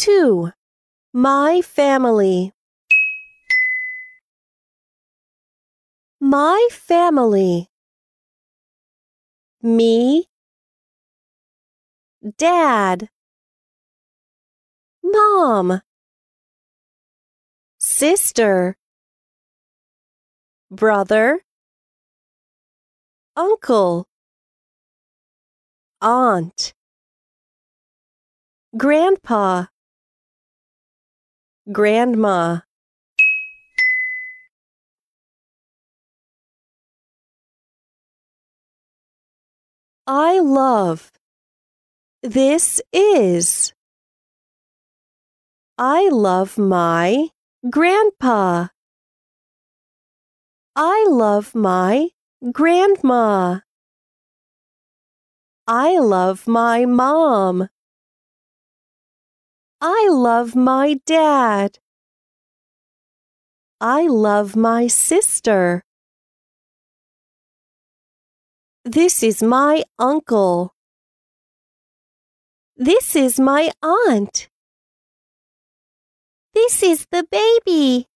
2. My family. My family. Me, Dad, Mom, sister, brother, uncle, aunt, grandpa, grandma. I love. This is. I love my grandpa. I love my grandma. I love my mom. I love my dad. I love my sister. This is my uncle. This is my aunt. This is the baby.